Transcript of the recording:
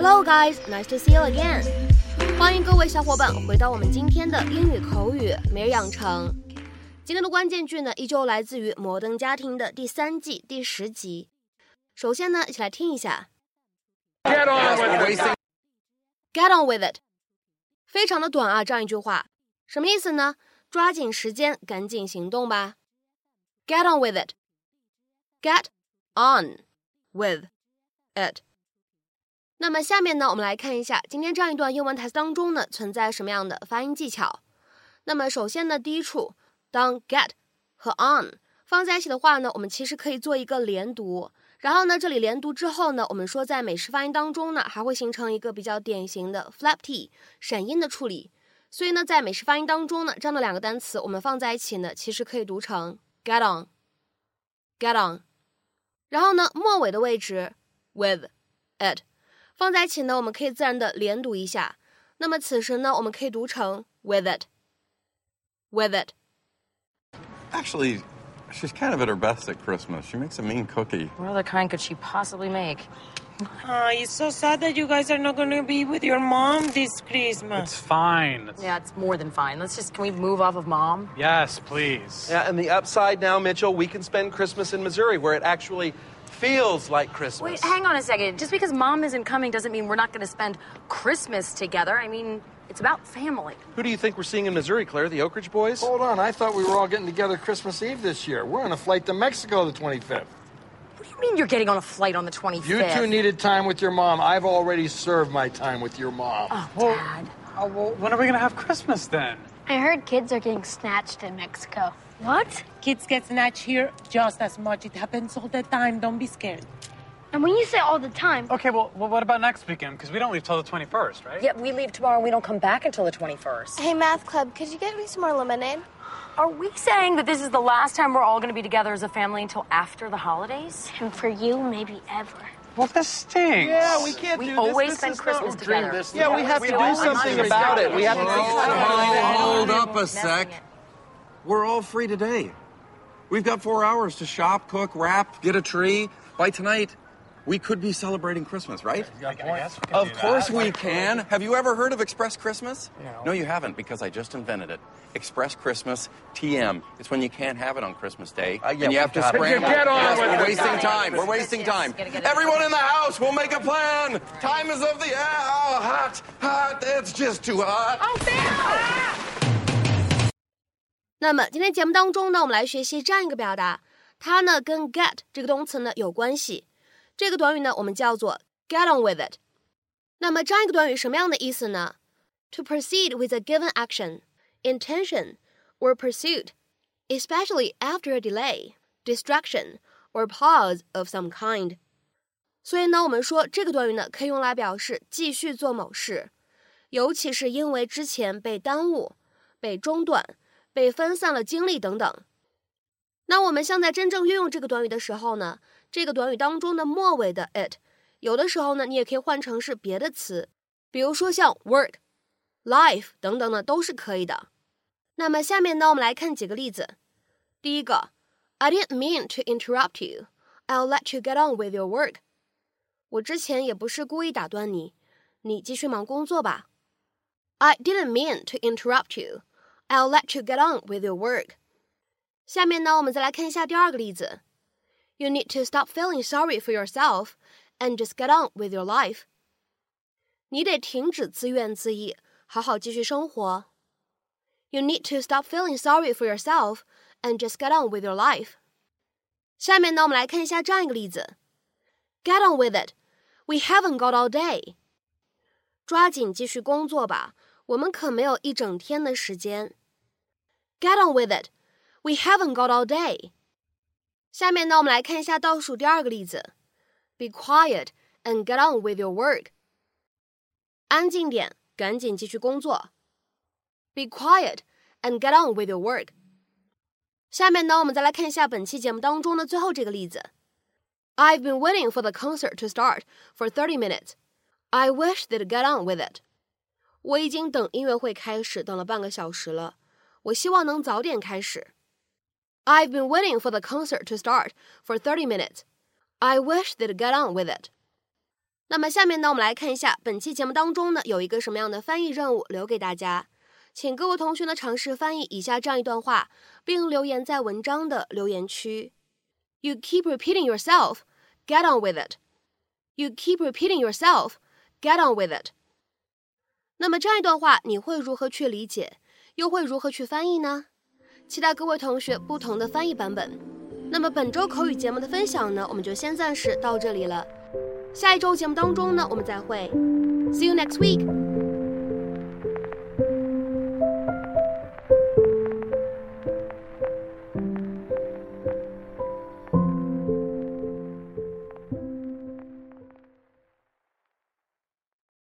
Hello guys, nice to see you again. 欢迎各位小伙伴回到我们今天的英语口语每日养成。今天的关键句呢，依旧来自于《摩登家庭》的第3季第10集。首先呢，一起来听一下。 Get on with it. Get on with it. 非常的短啊，这样一句话，什么意思呢？抓紧时间，赶紧行动吧。Get on with it. Get on with it. 那么下面呢，我们来看一下今天这样一段英文台词当中呢，存在什么样的发音技巧。那么首先呢，第一处，当 get 和 on 放在一起的话呢，我们其实可以做一个连读。然后呢，这里连读之后呢，我们说在美式发音当中呢，还会形成一个比较典型的 flap t 闪音的处理。所以呢，在美式发音当中呢，这样的两个单词我们放在一起呢，其实可以读成 get on, get on。然后呢，末尾的位置 with it 放在一起呢，我们可以自然的连读一下。那么此时呢，我们可以读成 with it, with it。 Actually, she's kind of at her best at Christmas. She makes a mean cookie. What other kind could she possibly make? It's so sad that you guys are not going to be with your mom this Christmas. It's fine. Yeah, it's more than fine. Can we move off of Mom? Yes, please. Yeah, and the upside now, Mitchell, we can spend Christmas in Missouri where it actually feels like Christmas. Wait, hang on a second. Just because Mom isn't coming doesn't mean we're not going to spend Christmas together. I mean, it's about family. Who do you think we're seeing in Missouri, Claire? The Oak Ridge Boys? Hold on, I thought we were all getting together Christmas Eve this year. We're on a flight to Mexico the 25th. What do you mean you're getting on a flight on the 25th? You two needed time with your mom. I've already served my time with your mom. Oh, Well, Dad. Well, when are we going to have Christmas then? I heard kids are getting snatched in Mexico. What? Kids get snatched here just as much. It happens all the time. Don't be scared. And when you say all the time, Okay, well, what about next weekend? Because we don't leave till the 21st, right? Yeah, we leave tomorrow and we don't come back until the 21st. hey, math club, could you get me some more lemonade? Are we saying that this is the last time we're all going to be together as a family until after the holidays? And for you, maybe ever. Well, this stinks. Yeah, we can't We do always this. spend This is Christmas not- together. This Yeah, we have to do always something do about something. it. We have to Hold up a Messing sec. it. We're all free today. We've got 4 hours to shop, cook, wrap, get a tree. By tonight, we could be celebrating Christmas, right? I guess we can Of do course that. we can. Have you ever heard of Express Christmas? No. No, you haven't, because I just invented it. Express Christmas TM. It's when you can't have it on Christmas Day, yeah, and you have to we've got it. scramble. Get on Yes, with we're it. wasting time. We're wasting Yes, time. gotta get it. Everyone in the house, we'll make a plan. Time is of the hot. It's just too hot. 那么今天节目当中呢，我们来学习这样一个表达，它呢跟 get 这个动词呢有关系。这个短语呢我们叫做 get on with it。那么这样一个短语什么样的意思呢？ To proceed with a given action, intention, or pursuit, especially after a delay, distraction, or pause of some kind。所以呢，我们说这个短语呢可以用来表示继续做某事，尤其是因为之前被耽误、被中断、被分散了精力等等。那我们像在真正运用这个短语的时候呢，这个短语当中的末尾的 it， 有的时候呢，你也可以换成是别的词，比如说像 work、life 等等呢，都是可以的。那么下面呢，我们来看几个例子。第一个 I didn't mean to interrupt you. I'll let you get on with your work. 我之前也不是故意打断你，你继续忙工作吧。I didn't mean to interrupt you. I'll let you get on with your work. 下面呢，我们再来看一下第二个例子。You need to stop feeling sorry for yourself and just get on with your life. 你得停止自怨自艾，好好继续生活。You need to stop feeling sorry for yourself and just get on with your life. 下面呢，我们来看一下这样一个例子。Get on with it. We haven't got all day. 抓紧继续工作吧，我们可没有一整天的时间。Get on with it. We haven't got all day. 下面呢，我们来看一下倒数第二个例子。Be quiet and get on with your work. 安静点，赶紧继续工作。Be quiet and get on with your work. 下面呢，我们再来看一下本期节目当中的最后这个例子。I've been waiting for the concert to start for 30 minutes. I wish they'd get on with it. 我已经等音乐会开始等了半个小时了，我希望能早点开始。I've been waiting for the concert to start for 30 minutes. I wish they'd get on with it. 那么下面呢，我们来看一下本期节目当中呢有一个什么样的翻译任务留给大家，请各位同学呢尝试翻译以下这样一段话，并留言在文章的留言区。You keep repeating yourself, get on with it. You keep repeating yourself, get on with it. 那么这样一段话你会如何去理解，又会如何去翻译呢？期待各位同学不同的翻译版本。那么本周口语节目的分享呢，我们就先暂时到这里了。下一周节目当中呢，我们再会。See you next week.